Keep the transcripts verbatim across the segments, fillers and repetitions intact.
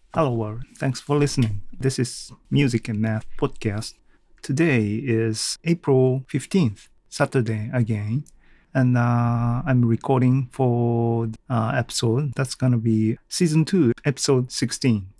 Hello world, thanks for listening. This is Music and Math Podcast. Today is April fifteenth, Saturday again. And uh, I'm recording for uh, episode that's gonna be season two, episode sixteen.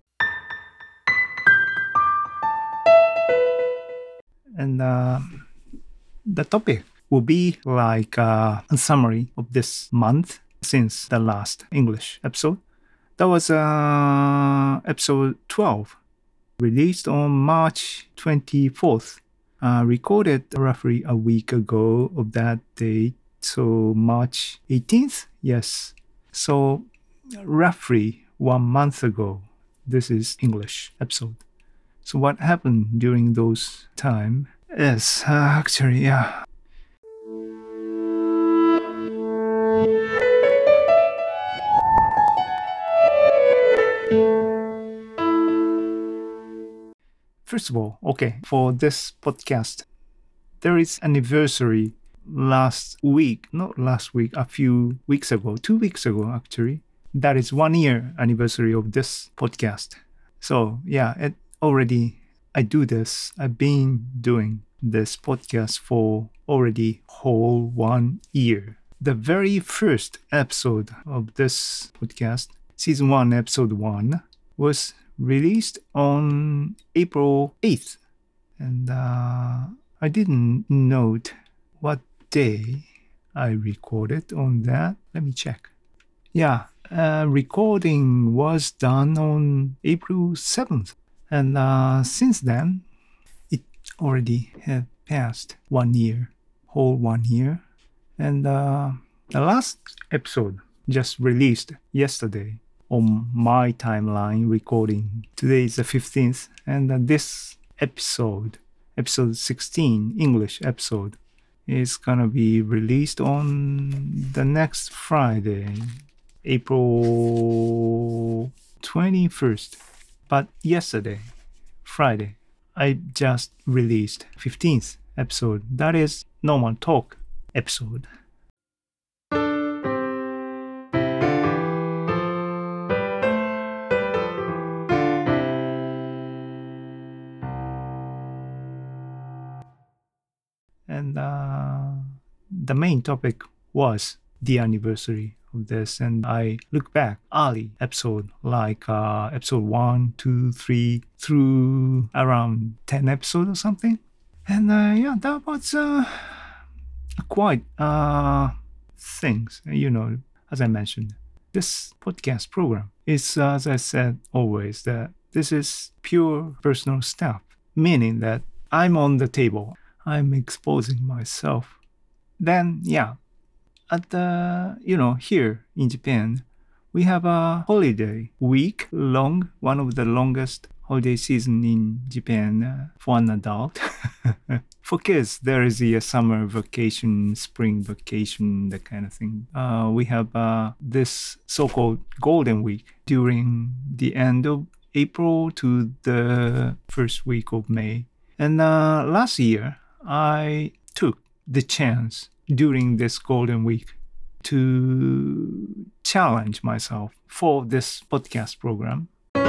And uh, the topic will be like uh, a summary of this month since the last English episode. That was uh, episode twelve, released on March twenty-fourth. Uh, recorded roughly a week ago of that date, so March eighteenth, yes. So roughly one month ago, this is English episode. So what happened during those time is uh, actually, yeah. First of all, okay, for this podcast, there is anniversary last week, not last week, a few weeks ago, two weeks ago actually. That is one year anniversary of this podcast. So yeah, it already, I do this, I've been doing this podcast for already whole one year. The very first episode of this podcast, season one, episode one, was released on April eighth. And uh, I didn't note what day I recorded on that. Let me check. Yeah, uh, recording was done on April seventh. And uh, since then, it already had passed one year, whole one year. And uh, the last episode just released yesterday on my timeline recording. Today is the fifteenth, and uh, this episode, episode sixteen, English episode, is gonna be released on the next Friday, April twenty-first. But yesterday, Friday, I just released fifteenth episode. That is normal talk episode. And uh, the main topic was the anniversary of this. And I look back early episode, like uh, episode one, two, three, through around ten episodes or something. And uh, yeah, that was uh, quite uh, things, you know, as I mentioned. This podcast program is, uh, as I said always, that this is pure personal stuff, meaning that I'm on the table. I'm exposing myself. Then, yeah, at the, you know, here in Japan, we have a holiday week long, one of the longest holiday season in Japan uh, for an adult. For kids, there is a summer vacation, spring vacation, that kind of thing. Uh, we have uh, this so-called Golden Week during the end of April to the first week of May. And uh, last year, I took the chance during this Golden Week to challenge myself for this podcast program.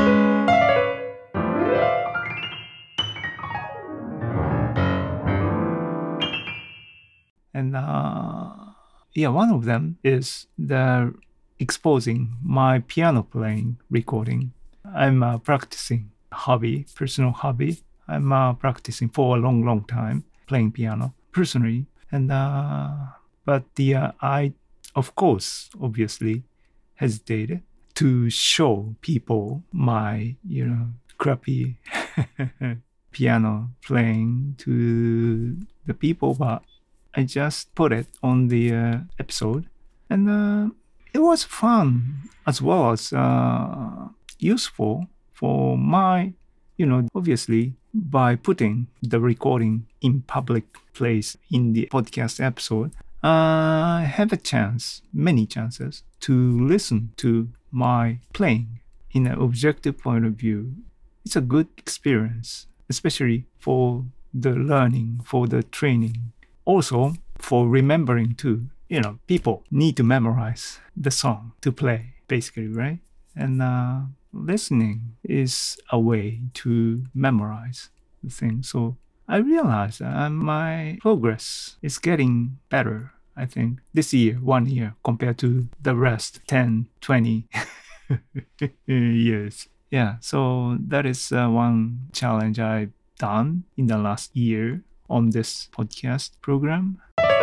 And uh, yeah, one of them is the exposing my piano playing recording. I'm uh, practicing hobby, personal hobby. I'm uh, practicing for a long, long time, playing piano personally. And uh, but the uh, I, of course, obviously, hesitated to show people my, you know, crappy piano playing to the people, but I just put it on the uh, episode, and uh, it was fun as well as uh, useful for my, you know, obviously by putting the recording in public place in the podcast episode, I have a chance, many chances, to listen to my playing in an objective point of view. It's a good experience, especially for the learning, for the training. Also, for remembering too. You know, people need to memorize the song to play, basically, right? And uh, listening is a way to memorize the thing. So I realized that my progress is getting better, I think, this year, one year, compared to the rest, ten, twenty years. Yeah, so that is uh, one challenge I've done in the last year on this podcast program.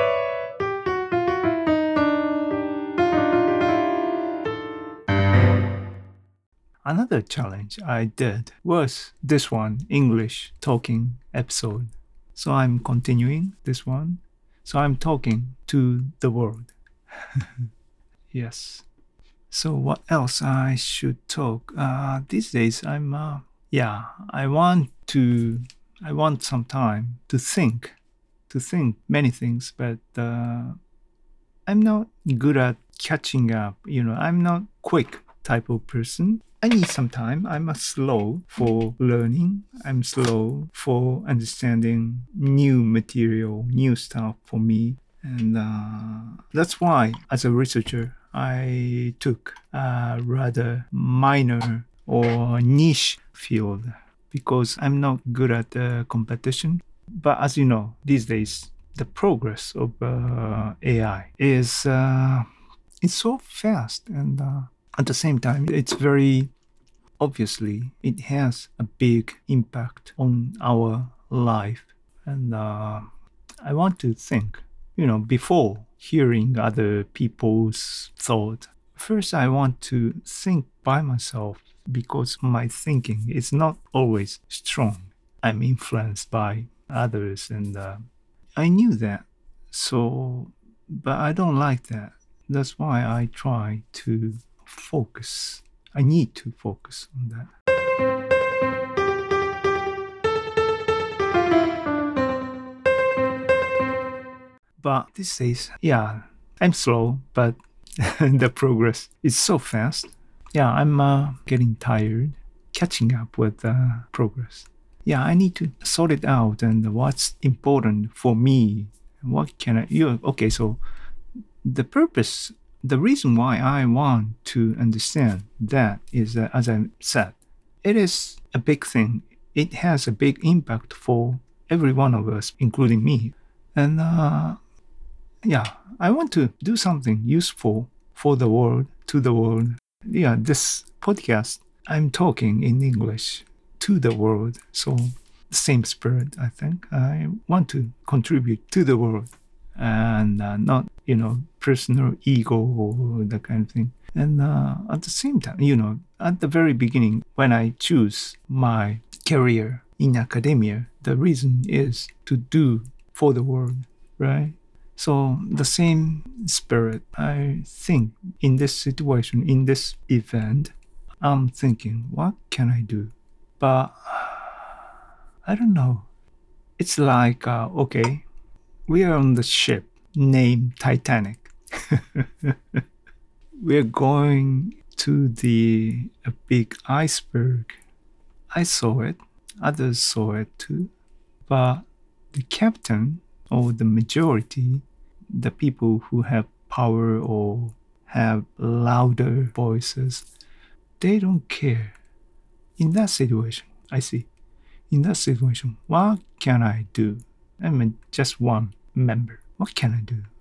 Another challenge I did was this one, English talking episode. So I'm continuing this one. So I'm talking to the world. Yes. So what else I should talk? Uh, these days I'm, uh, yeah, I want to, I want some time to think, to think many things, but uh, I'm not good at catching up. You know, I'm not quick type of person. I need some time. I'm a slow for learning. I'm slow for understanding new material, new stuff for me. And uh, that's why, as a researcher, I took a rather minor or niche field because I'm not good at uh, competition. But as you know, these days, the progress of uh, A I is uh, it's so fast, and uh, at the same time, it's very obviously it has a big impact on our life. And uh, I want to think, you know, before hearing other people's thought, first I want to think by myself because my thinking is not always strong. I'm influenced by others, and uh, I knew that. So, but I don't like that. That's why I try to focus. I need to focus on that. But these days, yeah, I'm slow, but the progress is so fast. Yeah, I'm uh, getting tired catching up with uh, progress. Yeah, I need to sort it out and what's important for me. What can I, you, okay, so the purpose, the reason why I want to understand that is that, as I said, it is a big thing. It has a big impact for every one of us, including me. And uh, yeah, I want to do something useful for the world, to the world. Yeah, this podcast, I'm talking in English to the world. So same spirit, I think. I want to contribute to the world and uh, not, you know, personal ego or that kind of thing. And uh, at the same time, you know, at the very beginning, when I choose my career in academia, the reason is to do for the world, right? So the same spirit, I think in this situation, in this event, I'm thinking, what can I do? But I don't know. It's like, uh, okay, we are on the ship named Titanic. We're going to the a big iceberg. I saw it. Others saw it too. But the captain or the majority, the people who have power or have louder voices, they don't care. In that situation, I see. In that situation, what can I do? I'm just one member. What can I do?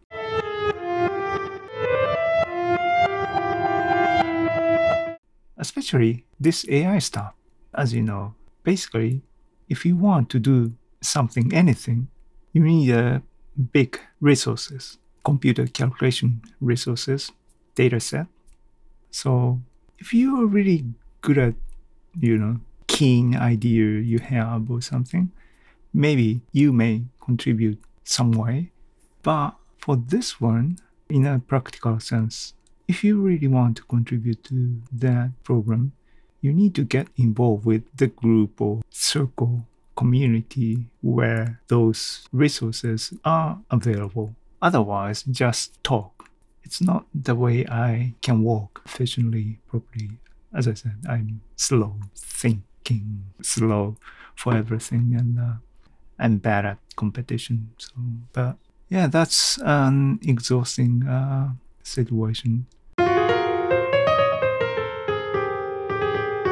Especially this A I stuff. As you know, basically, if you want to do something, anything, you need uh, big resources, computer calculation resources, data set. So if you are really good at, you know, keen idea you have or something, maybe you may contribute some way. But for this one, in a practical sense, if you really want to contribute to that program, you need to get involved with the group or circle, community where those resources are available. Otherwise, just talk. It's not the way I can work efficiently, properly. As I said, I'm slow thinking, slow for everything, and uh, I'm bad at competition. So, but yeah, that's an exhausting uh, situation.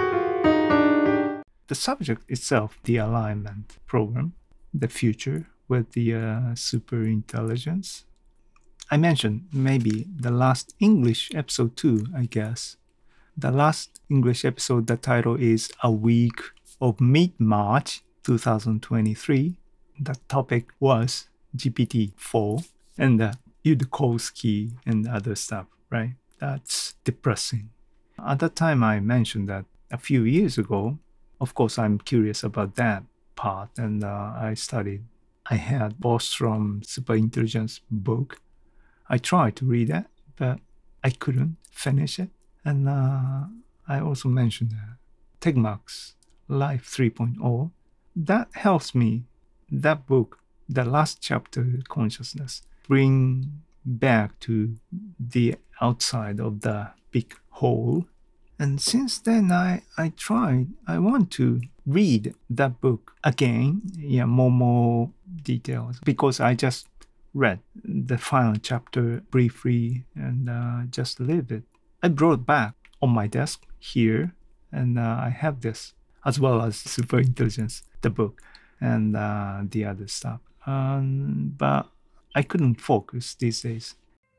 the subject itself, the alignment program, the future with the uh, super intelligence. I mentioned maybe the last English episode too, I guess. The last English episode, the title is A Week of Mid-March twenty twenty-three. The topic was G P T four and the Yudkowsky and other stuff, right? That's depressing. At that time, I mentioned that a few years ago, of course, I'm curious about that part, and uh, I studied. I had Bostrom Superintelligence book. I tried to read it, but I couldn't finish it. And uh, I also mentioned uh, Tegmark's Life three point oh. That helps me, that book, the last chapter, Consciousness, bring back to the outside of the big hole. And since then, I, I tried, I want to read that book again, yeah, more, more details, because I just read the final chapter briefly and uh, just leave it. I brought back on my desk here, and uh, I have this, as well as Superintelligence, the book, and uh, the other stuff. Um, but I couldn't focus these days.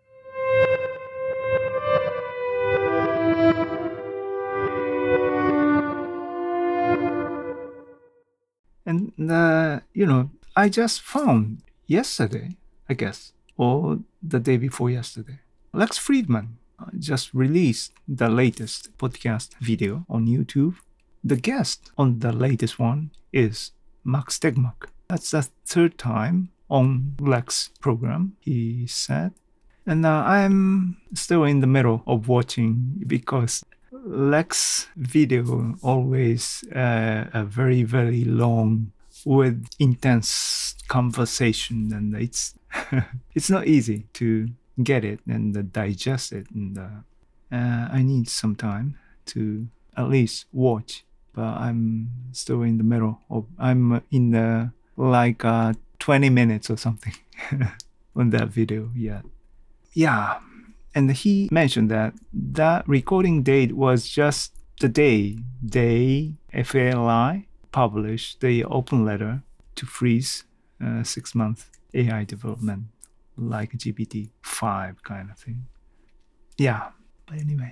And, uh, you know, I just found yesterday, I guess, or the day before yesterday, Lex Fridman just released the latest podcast video on YouTube. The guest on the latest one is Max Tegmark. That's the third time on Lex program, he said. And uh, I'm still in the middle of watching because Lex video always uh, a very, very long with intense conversation, and it's it's not easy to get it and uh, digest it. And uh, uh, I need some time to at least watch, but I'm still in the middle of, I'm in the like uh, twenty minutes or something on that video yet. Yeah. And he mentioned that that recording date was just the day they, F A L I, published the open letter to freeze uh, six-month A I development, like G P T five kind of thing. Yeah, but anyway.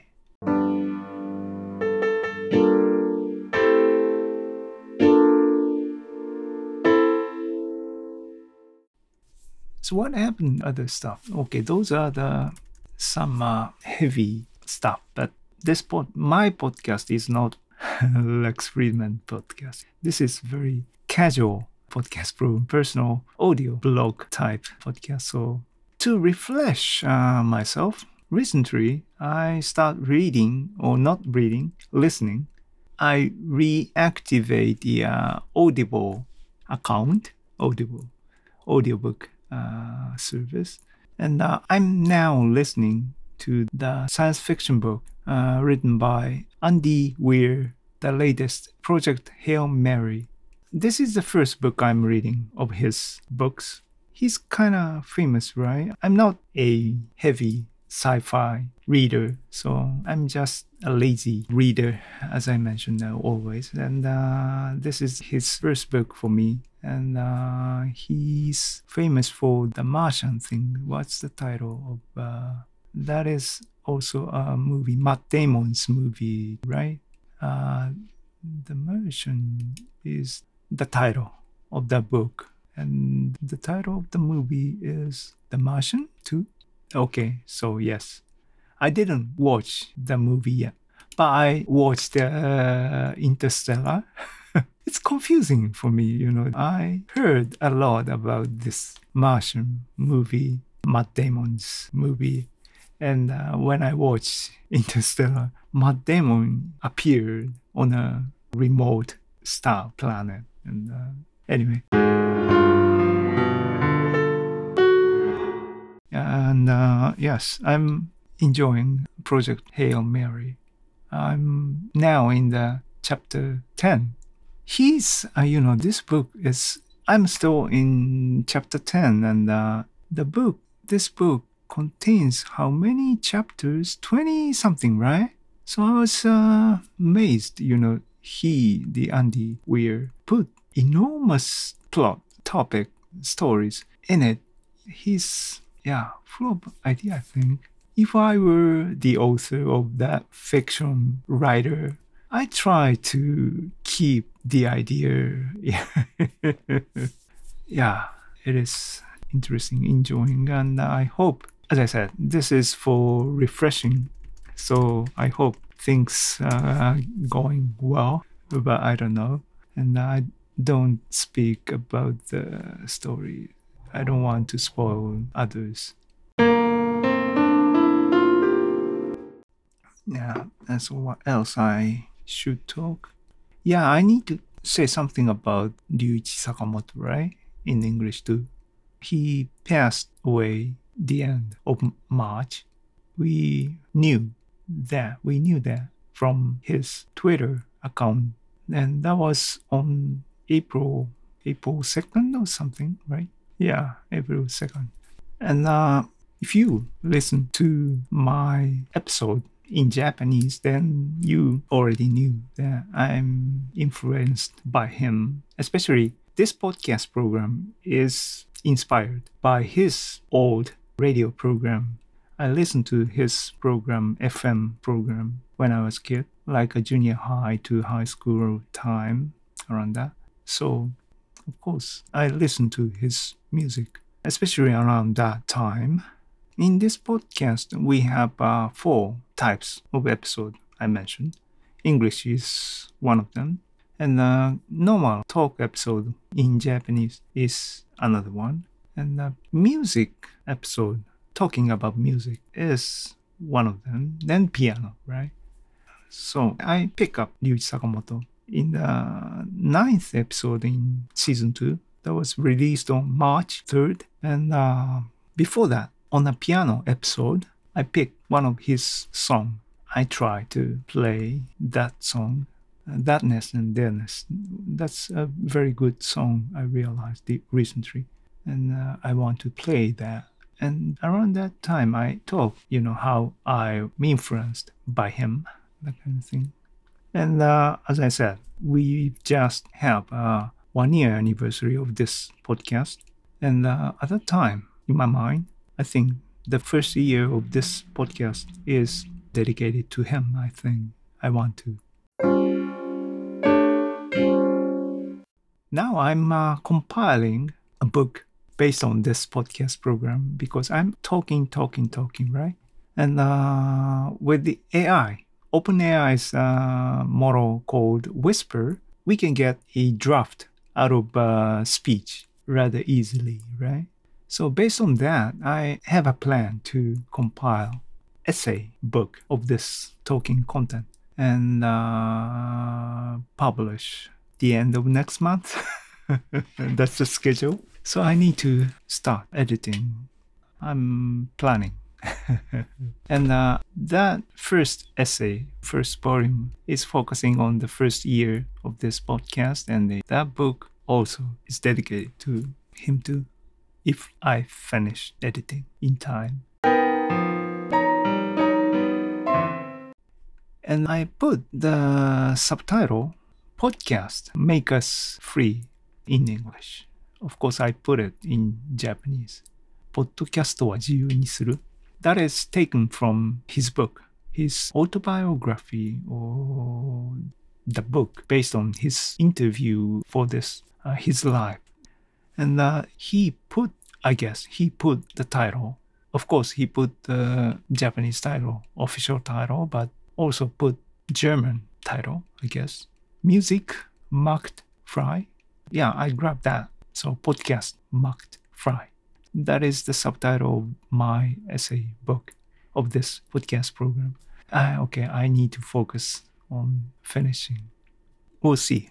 So what happened? Other stuff. Okay, those are the some uh, heavy stuff, but this pod, my podcast is not Lex Fridman podcast. This is very casual podcast, program, personal audio blog type podcast. So to refresh uh, myself, recently I start reading, or not reading, listening. I reactivate the uh, Audible account, Audible, audiobook uh, service. And uh, I'm now listening to the science fiction book uh, written by Andy Weir, the latest Project Hail Mary. This is the first book I'm reading of his books. He's kind of famous, right? I'm not a heavy sci-fi reader, so I'm just a lazy reader, as I mentioned uh, always. And uh, this is his first book for me. And uh, he's famous for the Martian thing. What's the title of uh, that? Is also a movie, Matt Damon's movie, right? Uh, the Martian is the title of the book, and the title of the movie is The Martian too. Okay, so yes, I didn't watch the movie yet, but I watched uh, Interstellar. It's confusing for me, you know. I heard a lot about this Martian movie, Matt Damon's movie. And uh, when I watched Interstellar, Matt Damon appeared on a remote star planet. And uh, anyway. And uh, yes, I'm enjoying Project Hail Mary. I'm now in the chapter ten. He's, uh, you know, this book is, I'm still in chapter ten, and uh, the book, this book contains how many chapters? twenty something, right? So I was uh, amazed, you know, he, the Andy Weir, put enormous plot, topic, stories in it. He's, yeah, full of idea, I think. If I were the author of that fiction writer, I try to keep the idea. Yeah, it is interesting, enjoying, and I hope, as I said, this is for refreshing. So I hope things are going well, but I don't know. And I don't speak about the story. I don't want to spoil others. Yeah, and so what else I should talk? Yeah, I need to say something about Ryuichi Sakamoto, right? In English too. He passed away the end of March. We knew that. We knew that from his Twitter account. And that was on April, April second or something, right? Yeah, April second. And uh, if you listen to my episode in Japanese, then you already knew that I'm influenced by him. Especially this podcast program is inspired by his old radio program. I listened to his program, F M program, when I was a kid, like a junior high to high school time, around that. So, of course, I listened to his music, especially around that time. In this podcast, we have uh, four types of episode I mentioned. English is one of them. And the normal talk episode in Japanese is another one. And the music episode, talking about music, is one of them. Then piano, right? So I pick up Ryuichi Sakamoto in the ninth episode in season two. That was released on March third. And uh, before that, on a piano episode, I picked one of his songs. I try to play that song, uh, Thatness and Theness. That's a very good song, I realized recently. And uh, I want to play that. And around that time, I talked, you know, how I'm influenced by him, that kind of thing. And uh, as I said, we just have a one-year anniversary of this podcast. And uh, at that time, in my mind, I think the first year of this podcast is dedicated to him, I think. I want to. Now I'm uh, compiling a book based on this podcast program because I'm talking, talking, talking, right? And uh, with the A I, OpenAI's uh, model called Whisper, we can get a draft out of uh, speech rather easily, right? So based on that, I have a plan to compile essay book of this talking content and uh, publish the end of next month. That's the schedule. So I need to start editing. I'm planning. And uh, that first essay, first volume, is focusing on the first year of this podcast. And the, that book also is dedicated to him too, if I finish editing in time. And I put the subtitle, Podcast Make Us Free, in English. Of course, I put it in Japanese. ポッドキャストは自由にする. That is taken from his book, his autobiography, or the book based on his interview for this, uh, his life. And uh, he put, I guess, he put the title. Of course, he put the Japanese title, official title, but also put German title, I guess. Music macht frei. Yeah, I grabbed that. So podcast macht frei. That is the subtitle of my essay book of this podcast program. Uh, okay, I need to focus on finishing. We'll see.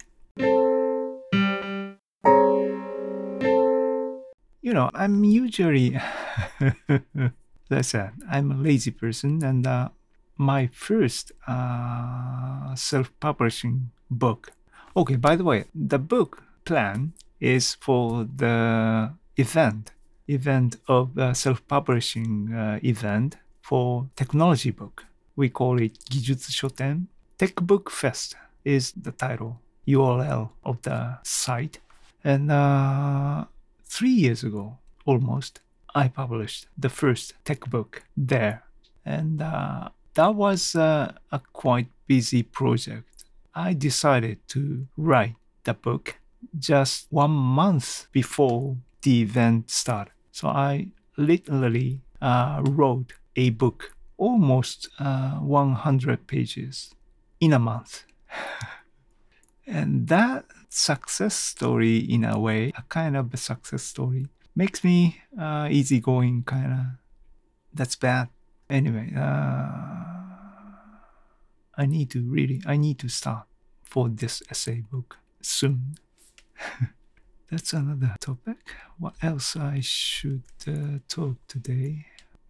You know, I'm usually, as I said, I'm a lazy person, and uh, my first uh, self-publishing book. Okay, by the way, the book plan is for the event, event of uh, self-publishing uh, event for technology book. We call it Gijutsu Shoten Tech Book Fest is the title, U R L of the site. And uh, three years ago, almost, I published the first tech book there. And uh, that was uh, a quite busy project. I decided to write the book just one month before the event started. So I literally uh, wrote a book, almost uh, one hundred pages in a month. And that success story, in a way, a kind of a success story, makes me uh, easygoing, kind of. That's bad. Anyway, uh, I need to really, I need to start for this essay book soon. That's another topic. What else I should uh, talk today?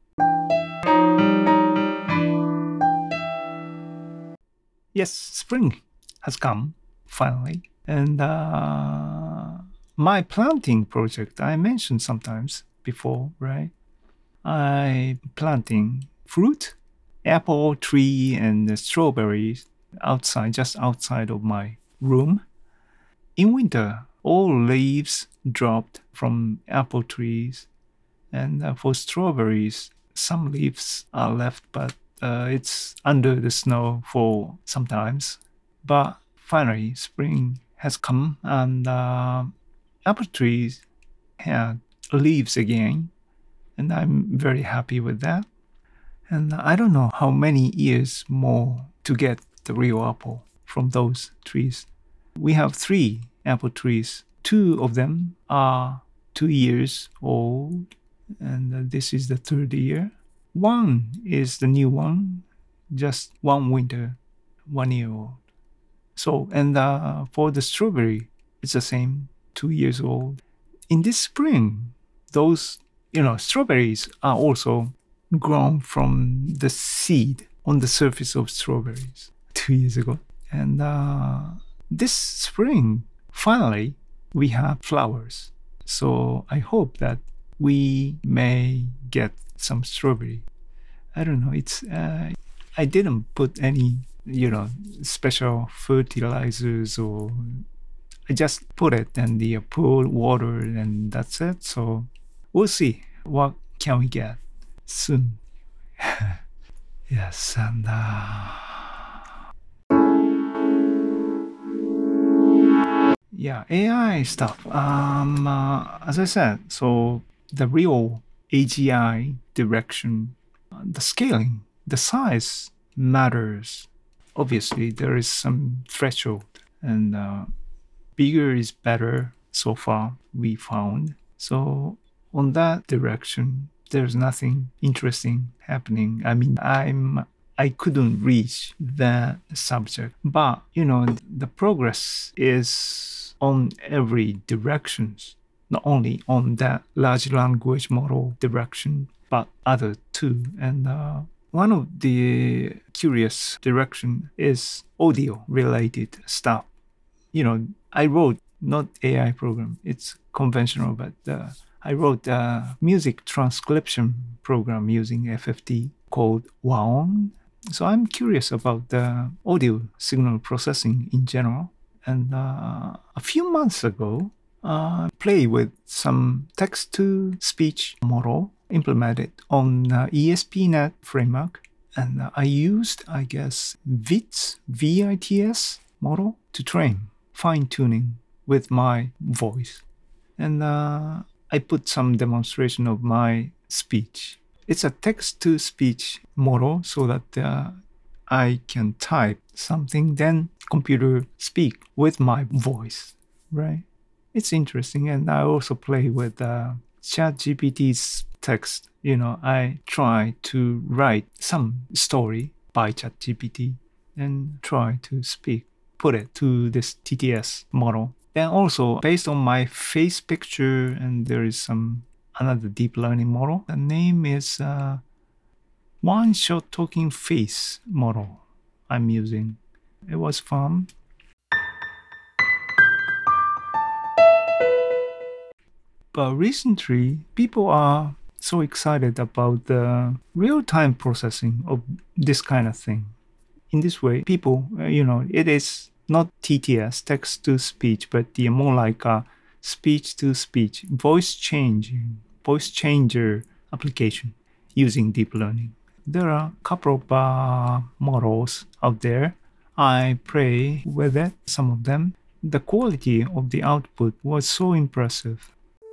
Yes, spring has come, finally. And uh, my planting project, I mentioned sometimes before, right? I'm planting fruit, apple tree and strawberries outside, just outside of my room. In winter, all leaves dropped from apple trees. And uh, for strawberries, some leaves are left, but uh, it's under the snow for sometimes. But finally, spring has come and uh, apple trees had leaves again. And I'm very happy with that. And I don't know how many years more to get the real apple from those trees. We have three apple trees. Two of them are two years old, and this is the third year. One is the new one, just one winter, one year old. So, and uh, for the strawberry, it's the same, two years old. In this spring, those, you know, strawberries are also grown from the seed on the surface of strawberries two years ago. And uh, this spring, finally, we have flowers. So I hope that we may get some strawberry. I don't know. It's uh, I didn't put any, you know, special fertilizers, or I just put it and the pour water and that's it. So we'll see what can we get soon. Yes, and uh, yeah, A I stuff. Um, uh, as I said, so the real A G I direction, uh, the scaling, the size matters. Obviously, there is some threshold, and uh, bigger is better so far, we found. So on that direction, there's nothing interesting happening. I mean, I'm I couldn't reach that subject, but you know, the progress is on every directions, not only on that large language model direction, but other too. And uh, one of the curious direction is audio related stuff. You know, I wrote not A I program, it's conventional, but uh, I wrote a music transcription program using F F T called Waon. So I'm curious about the audio signal processing in general. And uh, a few months ago, I uh, played with some text-to-speech model implemented on uh, E S P dot NET framework. And uh, I used, I guess, V I T S, V I T S model to train, fine-tuning with my voice. And uh, I put some demonstration of my speech. It's a text-to-speech model so that uh, I can type something, then computer speak with my voice, right? It's interesting. And I also play with uh, ChatGPT's text. You know, I try to write some story by ChatGPT and try to speak, put it to this T T S model. Then also, based on my face picture, and there is some another deep learning model. The name is uh, one-shot talking face model I'm using. It was fun. But recently, people are so excited about the real-time processing of this kind of thing. In this way, people, uh, you know, it is not T T S, text to speech, but the more like a speech to speech, voice changing, voice changer application using deep learning. There are a couple of uh, models out there. I play with it, some of them. The quality of the output was so impressive.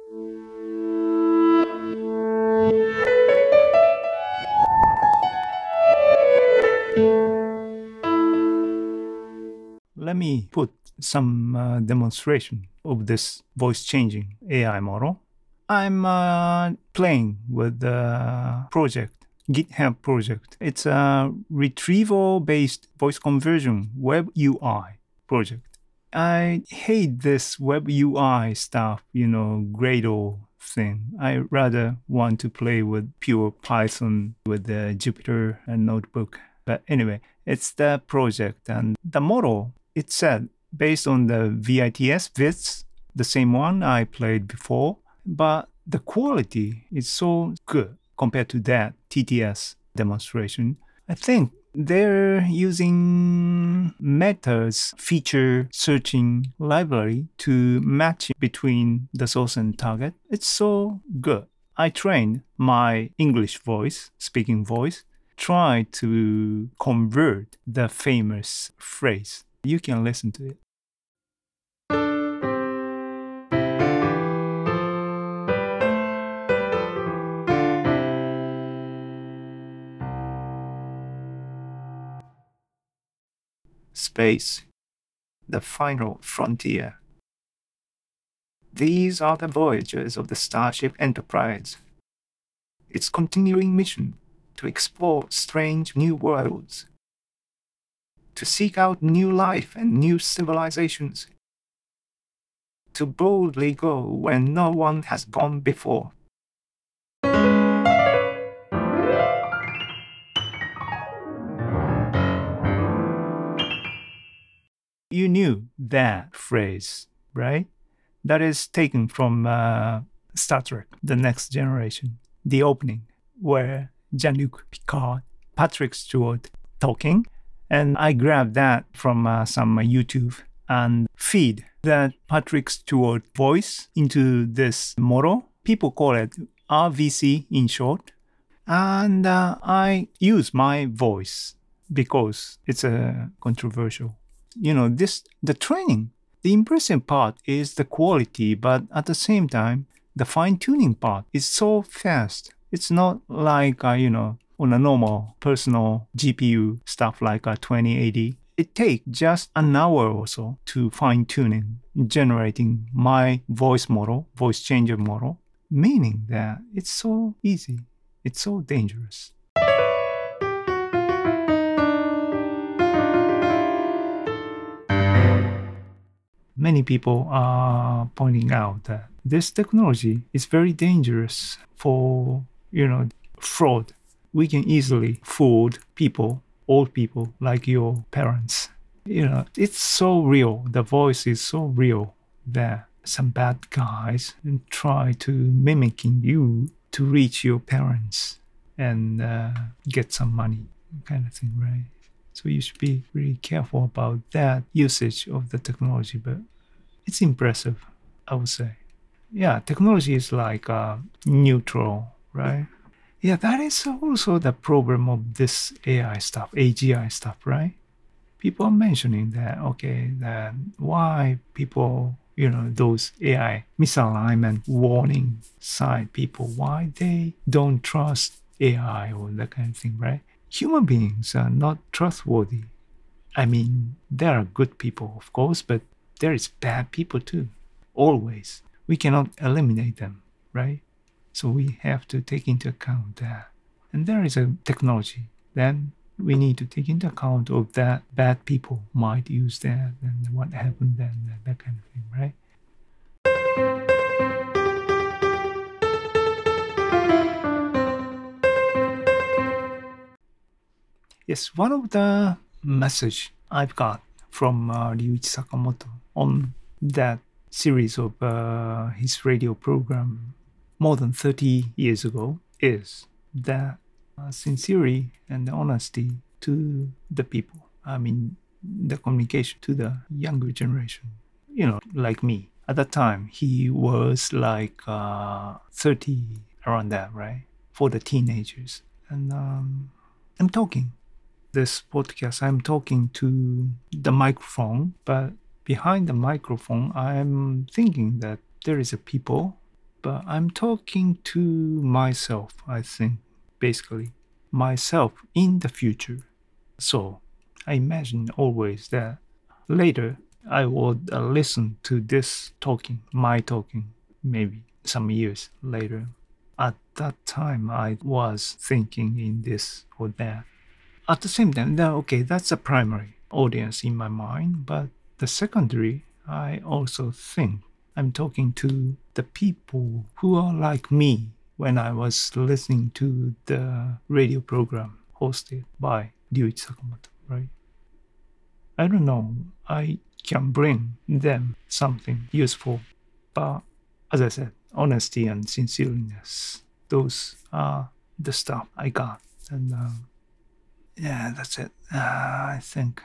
Let me put some uh, demonstration of this voice changing A I model. I'm uh, playing with the project, GitHub project. It's a retrieval-based voice conversion web U I project. I hate this web U I stuff, you know, Gradle thing. I rather want to play with pure Python with the Jupyter notebook. But anyway, it's the project and the model. It said based on the V I T S, V I T S, the same one I played before, but the quality is so good compared to that T T S demonstration. I think they're using Meta's feature searching library to match between the source and target. It's so good. I trained my English voice, speaking voice, try to convert the famous phrase. You can listen to it. Space, the final frontier. These are the voyages of the Starship Enterprise. Its continuing mission to explore strange new worlds, to seek out new life and new civilizations, to boldly go where no one has gone before. You knew that phrase, right? That is taken from uh, Star Trek, The Next Generation, the opening, where Jean-Luc Picard, Patrick Stewart talking, and I grabbed that from uh, some uh, YouTube and feed that Patrick Stewart voice into this model. People call it R V C in short. And uh, I use my voice because it's uh, controversial. You know, this the training. The impressive part is the quality, but at the same time, the fine-tuning part is so fast. It's not like, uh, you know, on a normal personal G P U stuff like a twenty eighty. It takes just an hour or so to fine-tuning, generating my voice model, voice changer model, meaning that it's so easy. It's so dangerous. Many people are pointing out that this technology is very dangerous for, you know, fraud. We can easily fool people, old people like your parents. You know, it's so real. The voice is so real that some bad guys try to mimicking you to reach your parents and uh, get some money, kind of thing, right? So you should be really careful about that usage of the technology, but it's impressive, I would say. Yeah, technology is like uh, neutral, right? Yeah, that is also the problem of this A I stuff, A G I stuff, right? People are mentioning that, okay, that why people, you know, those A I misalignment warning side people, why they don't trust A I or that kind of thing, right? Human beings are not trustworthy. I mean, there are good people, of course, but there is bad people too, always. We cannot eliminate them, right? So we have to take into account that. And there is a technology. Then we need to take into account of that bad people might use that and what happened then, that kind of thing, right? Yes, one of the message I've got from uh, Ryuichi Sakamoto on that series of uh, his radio program more than thirty years ago is that uh, sincerity and honesty to the people. I mean, the communication to the younger generation. You know, like me. At that time, he was like uh, thirty, around that, right? For the teenagers. And um, I'm talking. This podcast, I'm talking to the microphone, but behind the microphone, I'm thinking that there is a people, but I'm talking to myself, I think, basically. Myself in the future. So I imagine always that later I would uh, listen to this talking, my talking, maybe some years later. At that time, I was thinking in this or that. At the same time, that, okay, that's a primary audience in my mind, but the secondary, I also think I'm talking to the people who are like me when I was listening to the radio program hosted by Ryuichi Sakamoto, right? I don't know, I can bring them something useful, but as I said, honesty and sincereness, those are the stuff I got. And uh, yeah, that's it. Uh, I think.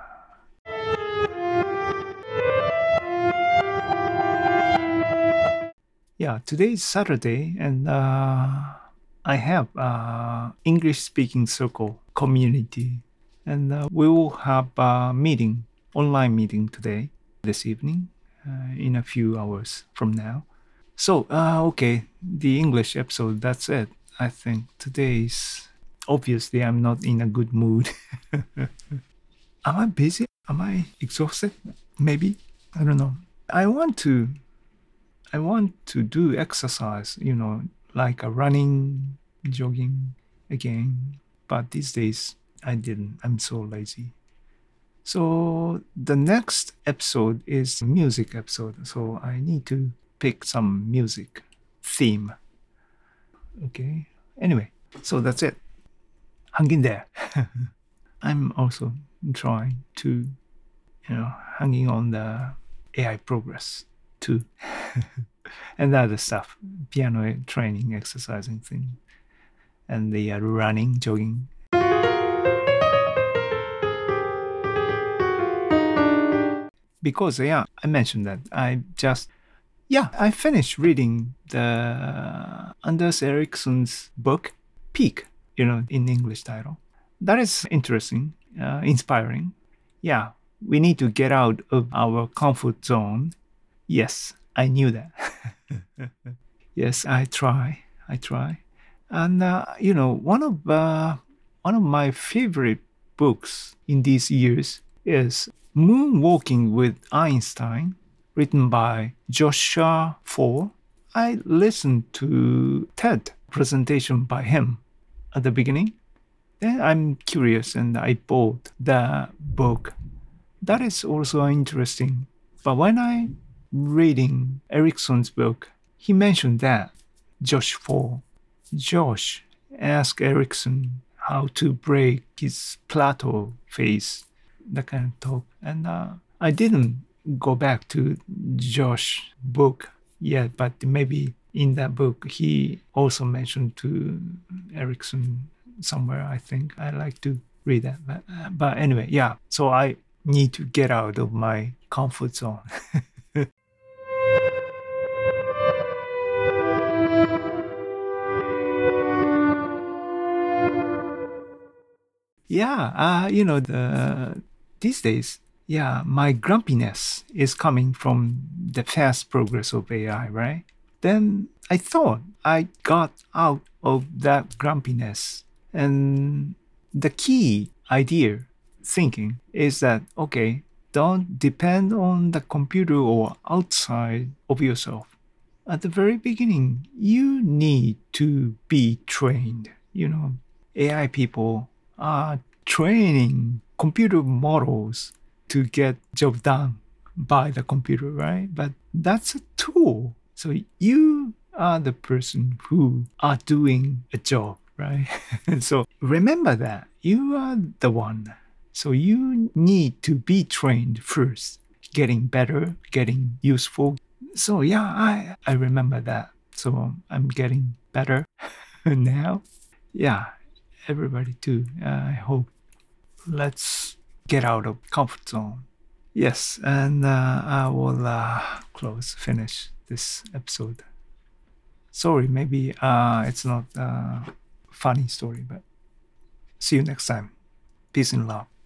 Yeah, today is Saturday, and uh, I have uh, English-speaking circle community, and uh, we will have a meeting, online meeting today, this evening, uh, in a few hours from now. So, uh, okay, the English episode, that's it. I think today's, obviously I'm not in a good mood. Am I busy? Am I exhausted? Maybe. I don't know. I want to, I want to do exercise, you know, like a running, jogging again. But these days I didn't. I'm so lazy. So the next episode is a music episode. So I need to pick some music theme. Okay. Anyway, so that's it. Hang in there. I'm also trying to, you know, hanging on the A I progress too. And other stuff, piano training, exercising thing, and the uh, running, jogging. Because, yeah, I mentioned that I just, yeah, I finished reading the Anders Ericsson's book, Peak, you know, in English title. That is interesting, uh, inspiring. Yeah, we need to get out of our comfort zone. Yes, I knew that. Yes, I try, I try. And, uh, you know, one of, uh, one of my favorite books in these years is Moonwalking with Einstein, written by Joshua Foer. I listened to TED presentation by him at the beginning. Then I'm curious and I bought the book. That is also interesting. But when I reading Ericsson's book, he mentioned that Josh Foer, Josh asked Ericsson how to break his plateau phase, that kind of talk. And uh, I didn't go back to Josh's book yet, but maybe in that book he also mentioned to Ericsson somewhere. I think I like to read that. But, uh, but anyway, yeah. So I need to get out of my comfort zone. Yeah, uh, you know, the these days, yeah, my grumpiness is coming from the fast progress of A I, right? Then I thought I got out of that grumpiness. And the key idea, thinking, is that, okay, don't depend on the computer or outside of yourself. At the very beginning, you need to be trained. You know, A I people are training computer models to get job done by the computer, right? But that's a tool. So you are the person who are doing a job, right? So remember that you are the one. So you need to be trained first, getting better, getting useful. So yeah, I, I remember that. So I'm getting better now. Yeah, everybody too. Uh, I hope. Let's get out of comfort zone. Yes, and uh, I will uh, close, finish this episode. Sorry, maybe uh, it's not a funny story, but see you next time. Peace and love.